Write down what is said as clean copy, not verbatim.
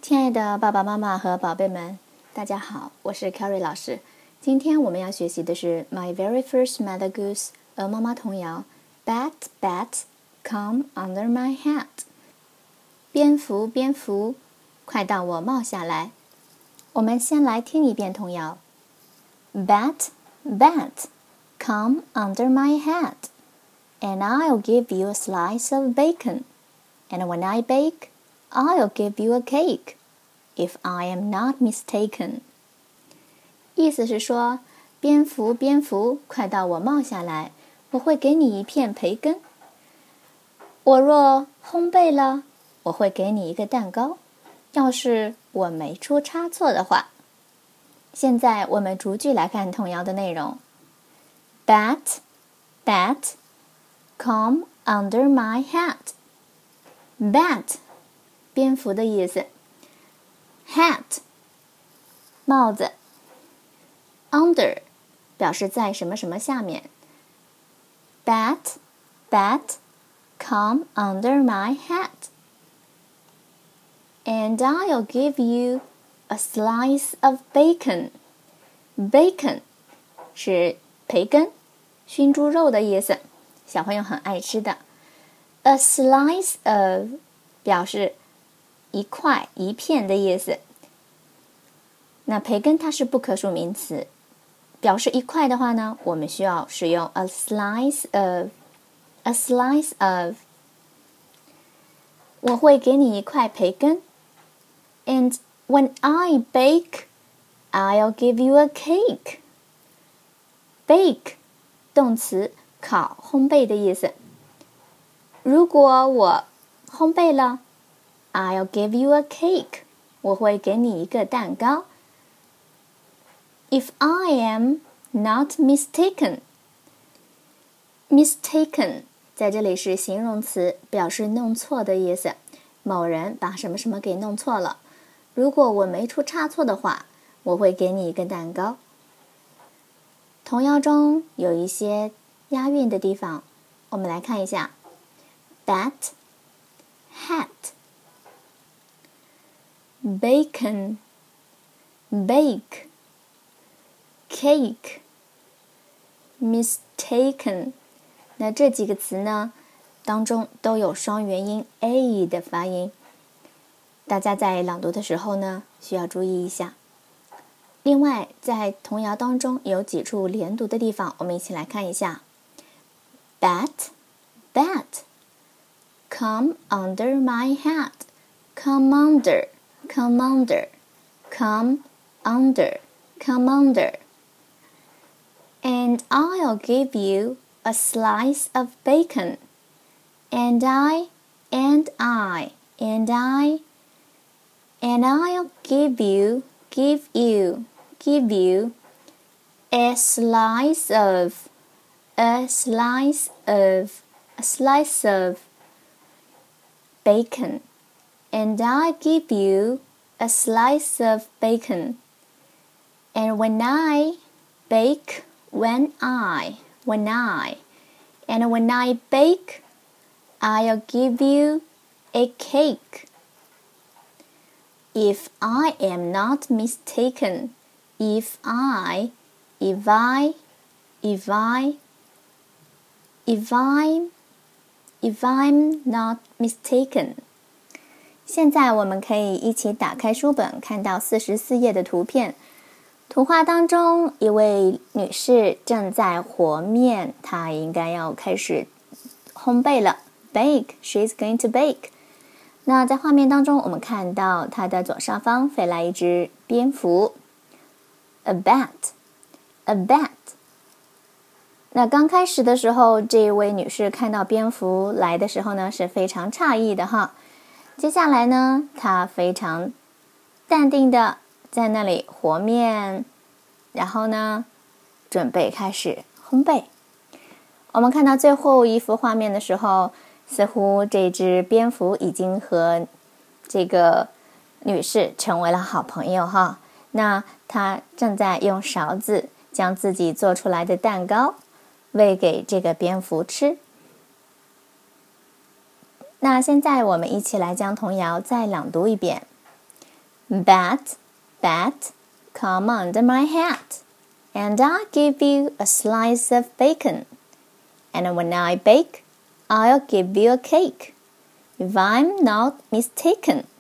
亲爱的爸爸妈妈和宝贝们，大家好，我是 Carrie 老师。今天我们要学习的是 My Very First Mother Goose 鹅妈妈童谣 Bat, bat, come under my hat。 蝙蝠，蝙蝠，快到我帽下来。我们先来听一遍童谣 Bat, bat, come under my hat, and I'll give you a slice of bacon. And when I bake, I'll give you a cake, if I am not mistaken. 意思是说，蝙蝠，蝙蝠，快到我帽下来，我会给你一片培根。我若烘焙了，我会给你一个蛋糕，要是我没出差错的话。现在我们逐句来看童谣的内容。Bat, bat, come under my hat. Bat, 蝙蝠的意思。Hat, 帽子。Under, 表示在什么什么下面。Bat, bat, come under my hat. And I'll give you a slice of bacon. Bacon 是培根，熏猪肉的意思，小朋友很爱吃的。A slice of 表示一块一片的意思。那培根它是不可数名词，表示一块的话呢，我们需要使用 a slice of。 A slice of， 我会给你一块培根。And when I bake, I'll give you a cake. Bake 动词，烤烘焙的意思。如果我烘焙了 I'll give you a cake， 我会给你一个蛋糕。If I am not mistaken. Mistaken 在这里是形容词，表示弄错的意思。某人把什么什么给弄错了。如果我没出差错的话，我会给你一个蛋糕。童谣中有一些押韵的地方，我们来看一下。Bat, hat, bacon, bake, cake, mistaken。 那这几个词呢，当中都有双元音 a 的发音，大家在朗读的时候呢，需要注意一下。另外，在童谣当中有几处连读的地方，我们一起来看一下。Bat, bat, come under my hat. Come under, come under, come under, come under. And I'll give you a slice of bacon. And I'll give you a slice of bacon. And I give you a slice of bacon. And when I bake, when I bake, I'll give you a cake. If I am not mistaken. If I'm not mistaken。 现在我们可以一起打开书本，看到44页的图片。图画当中，一位女士正在和面，她应该要开始烘焙了。Bake, she's going to bake。 那在画面当中，我们看到她的左上方飞来一只蝙蝠。A bat, a bat。 那刚开始的时候，这位女士看到蝙蝠来的时候呢，是非常诧异的哈。接下来呢，她非常淡定的在那里和面，然后呢，准备开始烘焙。我们看到最后一幅画面的时候，似乎这只蝙蝠已经和这个女士成为了好朋友哈。那她正在用勺子将自己做出来的蛋糕喂给这个蝙蝠吃。那现在我们一起来将童谣再朗读一遍。 Bat, bat, come under my hat, and I'll give you a slice of bacon. And when I bake, I'll give you a cake, if I'm not mistaken.